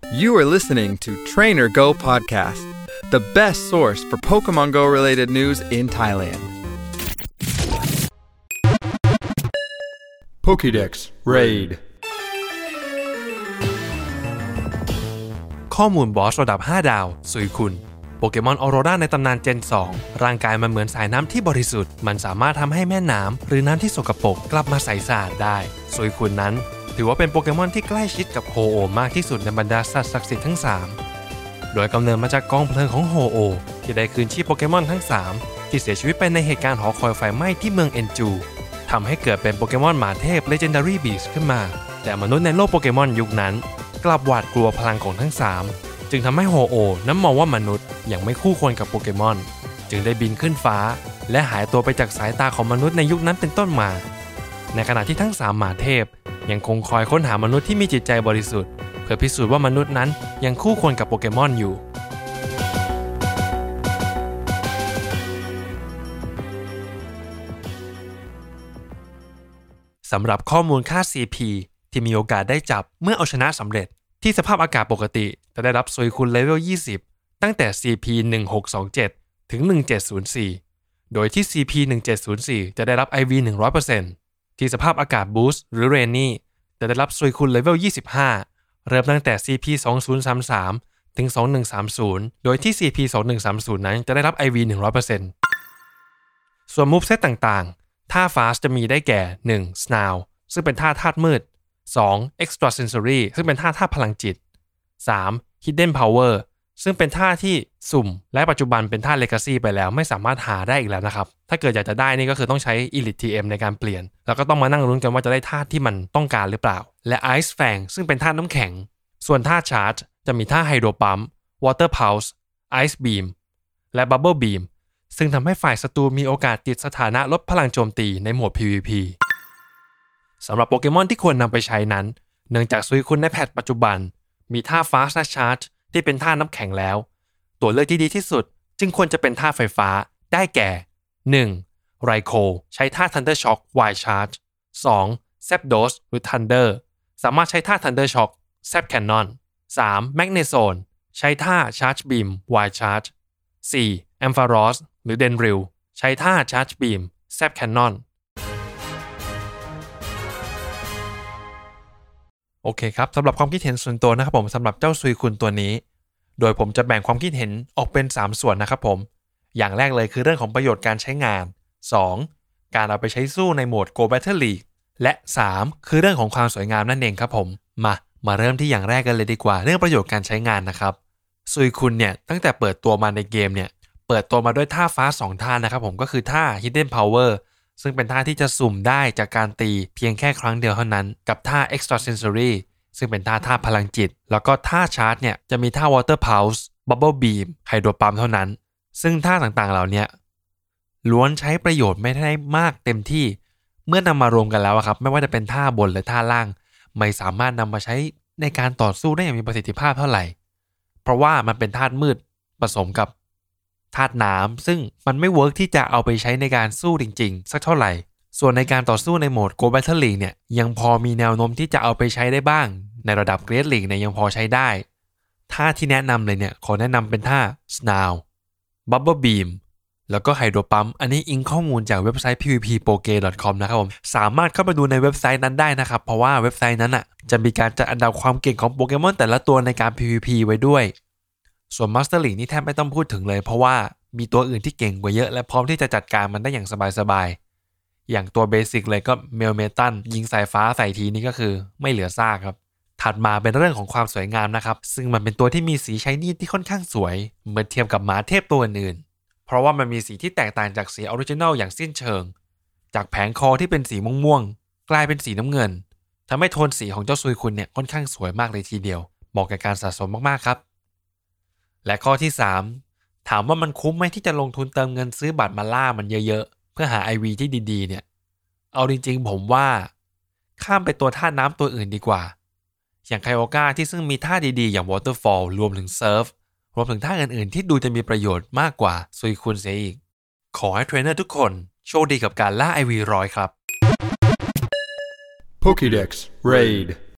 You are listening to Trainer Go Podcast, the best source for Pokemon Go related news in Thailand. Pokédex Raid ข้อมูลบอสระดับ5ดาวซุยคุนโปเกมอนออโรราในตำนานเจน 2ร่างกายมันเหมือนสายน้ำที่บริสุทธิ์มันสามารถทำให้แม่น้ำหรือน้ำที่สกปรกกลับมาใสสะอาดได้ซุยคุนนั้นถือว่าเป็นโปเกมอนที่ใกล้ชิดกับโฮโอมากที่สุดในบรรดาสัตว์ศักดิ์สิทธิ์ทั้ง3โดยกำเนิดมาจากกองเพลิงของโฮโอที่ได้คืนชีพโปเกมอนทั้ง3ที่เสียชีวิตไปในเหตุการณ์หอคอยไฟไหม้ที่เมืองเอ็นจูทำให้เกิดเป็นโปเกมอนหมาเทพ Legendary Beast ขึ้นมาแต่มนุษย์ในโลกโปเกมอนยุคนั้นกลับหวาดกลัวพลังของทั้ง3จึงทำให้โฮโอนั้นมองว่ามนุษย์ยังไม่คู่ควรกับโปเกมอนจึงได้บินขึ้นฟ้าและหายตัวไปจากสายตาของมนุษย์ในยุคนั้นเป็นต้นมาในขณะที่ทั้ง3หมาเทพยังคงคอยค้นหามนุษย์ที่มีจิตใจบริสุทธิ์เพื่อพิสูจน์ว่ามนุษย์นั้นยังคู่ควรกับโปเกมอนอยู่สำหรับข้อมูลค่า CP ที่มีโอกาสได้จับเมื่อเอาชนะสำเร็จที่สภาพอากาศปกติจะได้รับซุยคุนเลเวล 20 ตั้งแต่ CP 1627 ถึง 1704 โดยที่ CP 1704 จะได้รับ IV 100% ที่สภาพอากาศบูสต์หรือเรนนี่จะได้รับซุยคุนเลเวล 25 เริ่มตั้งแต่ CP 2033 ถึง 2130 โดยที่ CP 2130 นั้นจะได้รับ IV 100% ส่วนมูฟเซตต่างๆท่า Fast จะมีได้แก่ 1. Snarl ซึ่งเป็นท่าธาตุมืด 2. Extra Sensory ซึ่งเป็นท่าพลังจิต 3. Hidden Power ซึ่งเป็นท่าที่สุ่มและปัจจุบันเป็นท่า Legacy ไปแล้วไม่สามารถหาได้อีกแล้วนะครับถ้าเกิดอยากจะได้นี่ก็คือต้องใช้ Elite TM ในการเปลี่ยนแล้วก็ต้องมานั่งลุ้นกันว่าจะได้ท่าที่มันต้องการหรือเปล่าและ Ice Fang ซึ่งเป็นท่าน้ำแข็งส่วนท่า Charge จะมีท่า Hydro Pump Water Pulse Ice Beam และ Bubble Beam ซึ่งทำให้ฝ่ายศัตรูมีโอกาสติดสถานะลดพลังโจมตีในโหมด PVP สำหรับโปเกมอนที่ควรนำไปใช้นั้นเนื่องจากซุยคุนในแพทปัจจุบันมีท่า Fast Charge ที่เป็นท่าน้ำแข็งแล้วตัวเลือกที่ดีที่สุดจึงควรจะเป็นท่าไฟฟ้าได้แก่ 1. Raikou ใช้ท่า Thunder Shock Wild Charge 2. Zapdos หรือ Thunder สามารถใช้ท่า Thunder Shock Zap Cannon 3. Magnezone ใช้ท่า Charge Beam Wild Charge 4. Ampharos หรือ Dendril ใช้ท่า Charge Beam Zap Cannonโอเคครับสำหรับความคิดเห็นส่วนตัวนะครับผมสำหรับเจ้าซุยคุนตัวนี้โดยผมจะแบ่งความคิดเห็นออกเป็น3ส่วนนะครับผมอย่างแรกเลยคือเรื่องของประโยชน์การใช้งาน 2. การเอาไปใช้สู้ในโหมด Go Battle League และ 3. คือเรื่องของความสวยงามนั่นเองครับผมมาเริ่มที่อย่างแรกกันเลยดีกว่าเรื่องประโยชน์การใช้งานนะครับซุยคุนเนี่ยตั้งแต่เปิดตัวมาในเกมเนี่ยเปิดตัวมาด้วยท่าฟ้า2ท่านะครับผมก็คือท่า Hidden Powerซึ่งเป็นท่าที่จะสุ่มได้จากการตีเพียงแค่ครั้งเดียวเท่านั้นกับท่า Extra Sensory ซึ่งเป็นท่าพลังจิตแล้วก็ท่า Charge เนี่ยจะมีท่า Water Pulse Bubble Beam Hydro Pump เท่านั้นซึ่งท่าต่างๆเหล่านี้ล้วนใช้ประโยชน์ไม่ได้มากเต็มที่เมื่อนำมารวมกันแล้วครับไม่ว่าจะเป็นท่าบนหรือท่าล่างไม่สามารถนำมาใช้ในการต่อสู้ได้อย่างมีประสิทธิภาพเท่าไหร่เพราะว่ามันเป็นธาตุมืดผสมกับธาตุน้ำซึ่งมันไม่เวิร์กที่จะเอาไปใช้ในการสู้จริงๆสักเท่าไหร่ส่วนในการต่อสู้ในโหมด Go Battle League เนี่ยยังพอมีแนวโน้มที่จะเอาไปใช้ได้บ้างในระดับ Great League เนี่ยยังพอใช้ได้ท่าที่แนะนำเลยเนี่ยขอแนะนำเป็นท่า Snarl Bubble Beam แล้วก็ Hydro Pump อันนี้อิงข้อมูลจากเว็บไซต์ pvppoke.com นะครับผมสามารถเข้าไปดูในเว็บไซต์นั้นได้นะครับเพราะว่าเว็บไซต์นั้นจะมีการจัดอันดับความเก่งของโปเกมอนแต่ละตัวในการ PVP ไว้ด้วยส่วน Master League นี่แทบไม่ต้องพูดถึงเลยเพราะว่ามีตัวอื่นที่เก่งกว่าเยอะและพร้อมที่จะจัดการมันได้อย่างสบายๆอย่างตัวเบสิกเลยก็เมลเมตันยิงสายฟ้าใส่ทีนี่ก็คือไม่เหลือซากครับถัดมาเป็นเรื่องของความสวยงามนะครับซึ่งมันเป็นตัวที่มีสีไชนี่ที่ค่อนข้างสวยเมื่อเทียบกับหมาเทพตัวอื่นๆเพราะว่ามันมีสีที่แตกต่างจากสีออริจินัลอย่างสิ้นเชิงจากแผงคอที่เป็นสีม่วงๆกลายเป็นสีน้ำเงินทำให้โทนสีของเจ้าซุยคุนเนี่ยค่อนข้างสวยมากเลยทีเดียวเหมาะกับการสะสมมากๆครับและข้อที่3ถามว่ามันคุ้มไหมที่จะลงทุนเติมเงินซื้อบัตรมาล่ามันเยอะๆเพื่อหา IV ที่ดีๆเนี่ยเอาจริงๆผมว่าข้ามไปตัวท่าน้ำตัวอื่นดีกว่าอย่างไคโอก้าที่ซึ่งมีท่าดีๆอย่าง Waterfall รวมถึงเซิร์ฟรวมถึงท่าอื่นๆที่ดูจะมีประโยชน์มากกว่าซุยคุนเสียอีกขอให้เทรนเนอร์ทุกคนโชคดีกับการล่า IV 100ครับ Pokédex Raid